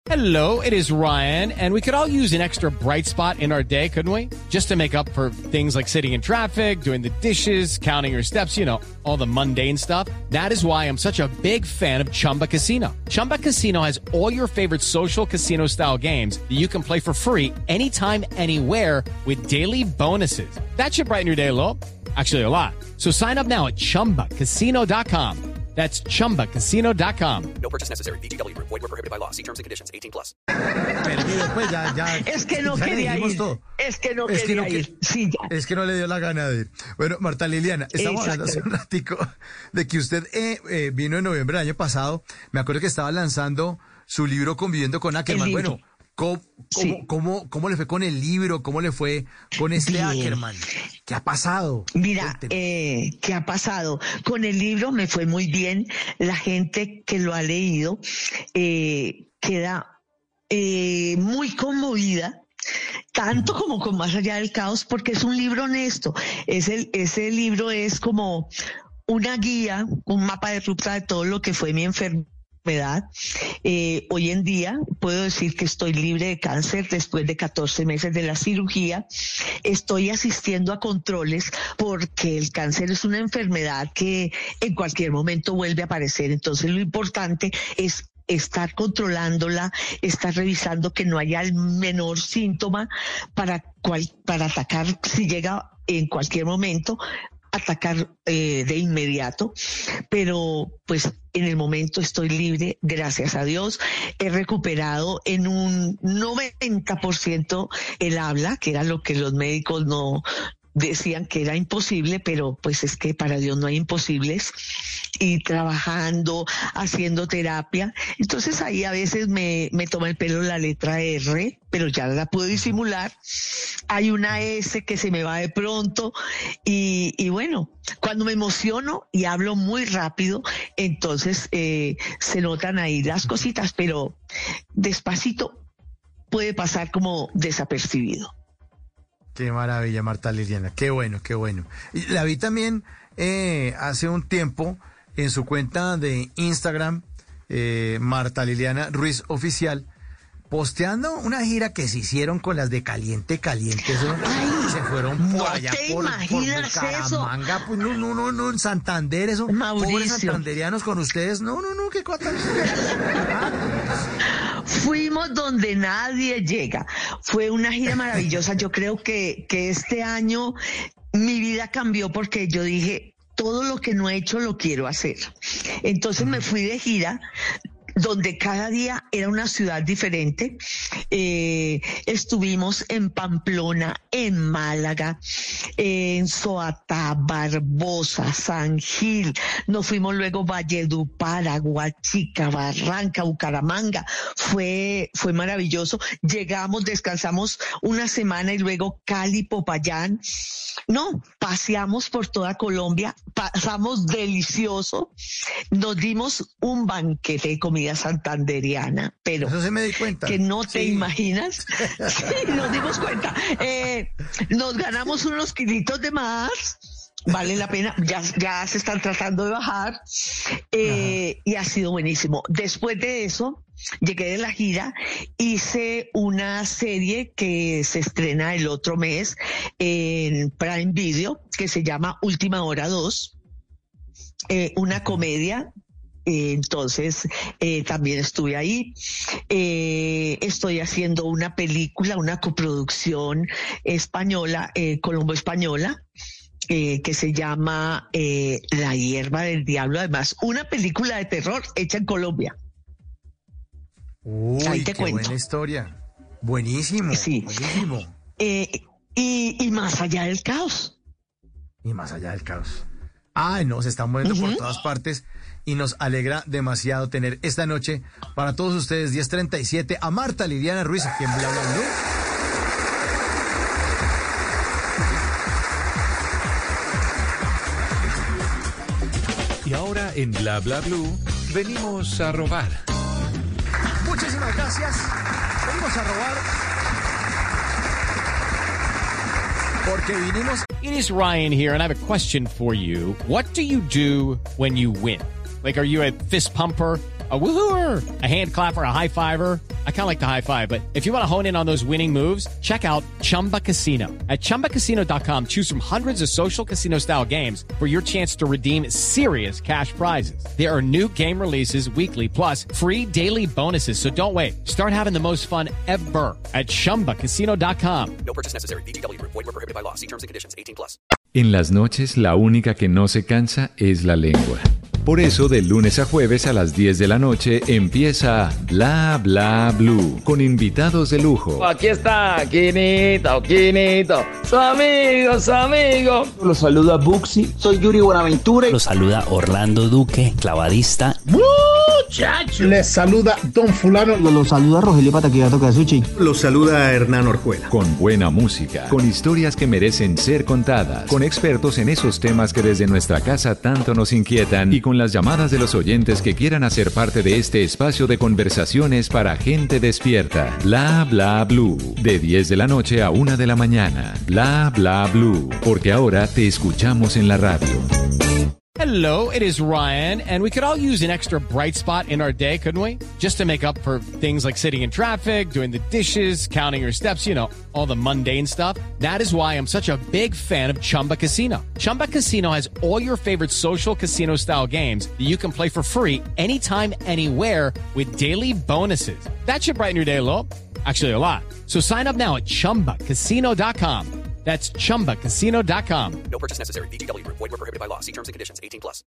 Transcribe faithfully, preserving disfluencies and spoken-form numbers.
Hello, it is Ryan, and we could all use an extra bright spot in our day, couldn't we? Just to make up for things like sitting in traffic, doing the dishes, counting your steps, you know, all the mundane stuff. That is why I'm such a big fan of Chumba Casino. Chumba Casino has all your favorite social casino-style games that you can play for free anytime, anywhere with daily bonuses. That should brighten your day a little. Actually, a lot. So sign up now at chumba casino dot com. That's chumba casino dot com. No purchase necessary. V G W Group. Void where prohibited by law. See terms and conditions. eighteen plus. Perdido, pues ya, ya. Es que no ya le quería dijimos ir. todo. Es que no Es que quería no que- ir. Sí, ya. Es que no le dio la gana de ir. Bueno, Marta Liliana, estamos hablando hace un ratico de que usted eh, eh, vino en noviembre del año pasado. Me acuerdo que estaba lanzando su libro Conviviendo con Ackerman. El libro. Bueno, ¿cómo, cómo, Sí. cómo, cómo le fue con el libro? ¿Cómo le fue con este Bien. Ackerman? ¿Qué ha pasado? Mira, Cuénteme. eh, ¿qué ha pasado? Con el libro me fue muy bien. La gente que lo ha leído eh, queda eh, muy conmovida, tanto como con Más allá del caos, porque es un libro honesto. Es el, ese libro es como una guía, un mapa de ruta de todo lo que fue mi enfermedad. Eh, hoy en día puedo decir que estoy libre de cáncer después de catorce meses de la cirugía. Estoy asistiendo a controles porque el cáncer es una enfermedad que en cualquier momento vuelve a aparecer. Entonces lo importante es estar controlándola, estar revisando que no haya el menor síntoma para, cual, para atacar si llega en cualquier momento, atacar eh, de inmediato, pero pues en el momento estoy libre, gracias a Dios. He recuperado en un noventa por ciento el habla, que era lo que los médicos no decían que era imposible, pero pues es que para Dios no hay imposibles, y trabajando, haciendo terapia. Entonces ahí a veces me, me toma el pelo la letra R, pero ya la puedo disimular. Hay una S que se me va de pronto y, y bueno, cuando me emociono y hablo muy rápido, entonces eh, se notan ahí las cositas, pero despacito puede pasar como desapercibido. Qué maravilla, Marta Liliana. Qué bueno, qué bueno. Y la vi también eh, hace un tiempo en su cuenta de Instagram, eh, Marta Liliana Ruiz Oficial, posteando una gira que se hicieron con las de Caliente Caliente. Eso, se fueron por no allá, te por, por imaginas Bucaramanga, pues no, no, no, no, en Santander, eso, Mauricio. pobres santanderianos con ustedes. No, no, no, qué cosa. Fuimos donde nadie llega. Fue una gira maravillosa. Yo creo que, que este año mi vida cambió porque yo dije, todo lo que no he hecho lo quiero hacer. Entonces me fui de gira donde cada día era una ciudad diferente. Eh, estuvimos en Pamplona, en Málaga, en Soatá, Barbosa, San Gil. Nos fuimos luego Valledupar, Aguachica, Barranca, Bucaramanga. Fue, fue maravilloso. Llegamos, descansamos una semana y luego Cali, Popayán. No, paseamos por toda Colombia, pasamos delicioso. Nos dimos un banquete de comida santanderiana, pero Eso se me di cuenta. que no te Sí. imaginas. Sí, nos dimos cuenta. Eh, nos ganamos unos kilitos de más. Vale la pena, ya, ya se están tratando de bajar, eh, y ha sido buenísimo. Después de eso, llegué de la gira, hice una serie que se estrena el otro mes en Prime Video, que se llama Última Hora dos, eh, una comedia. Eh, entonces, eh, también estuve ahí. Eh, estoy haciendo una película, una coproducción española, eh, colombo-española, eh, que se llama eh, La hierba del diablo. Además, una película de terror hecha en Colombia. Uy, Ahí te qué cuento. buena historia. Buenísimo, Sí. buenísimo. Eh, y, y más allá del caos. Y más allá del caos. Ay, no, se están moviendo por Ujú. todas partes y nos alegra demasiado tener esta noche para todos ustedes, diez treinta y siete, a Marta Liliana Ruiz, aquí en Bla Bla Blue. Y ahora en Bla Bla Blue venimos a robar. Muchísimas gracias. Venimos a robar porque vinimos. It is Ryan here, and I have a question for you. What do you do when you win? Like, are you a fist pumper? A woohooer, a hand clapper, a high fiver. I kind of like the high five, but if you want to hone in on those winning moves, check out Chumba Casino. At chumba casino dot com, choose from hundreds of social casino style games for your chance to redeem serious cash prizes. There are new game releases weekly, plus free daily bonuses. So don't wait. Start having the most fun ever at chumba casino dot com. No purchase necessary. V G W Group. Void where prohibited by law. See terms and conditions. eighteen plus. En las noches, la única que no se cansa es la lengua. Por eso, de lunes a jueves a las diez de la noche empieza Bla Bla Blue, con invitados de lujo. Aquí está, Quinito, Quinito, su amigo, su amigo. Los saluda Buxi, soy Yuri Buenaventura. Los saluda Orlando Duque, clavadista. Muchacho. Les saluda Don Fulano. Los saluda Rogelio Pataquigato Casuchi. Los saluda Hernán Orjuela. Con buena música, con historias que merecen ser contadas, con expertos en esos temas que desde nuestra casa tanto nos inquietan y con las llamadas de los oyentes que quieran hacer parte de este espacio de conversaciones para gente despierta. Bla Bla Blue, de diez de la noche a una de la mañana. Bla Bla Blue, porque ahora te escuchamos en la radio. Hello, it is Ryan, and we could all use an extra bright spot in our day, couldn't we? Just to make up for things like sitting in traffic, doing the dishes, counting your steps, you know, all the mundane stuff. That is why I'm such a big fan of Chumba Casino. Chumba Casino has all your favorite social casino-style games that you can play for free anytime, anywhere with daily bonuses. That should brighten your day a little. Actually, a lot. So sign up now at chumba casino dot com. That's chumba casino dot com. No purchase necessary. V G W Group. Void where prohibited by law. See terms and conditions. eighteen plus.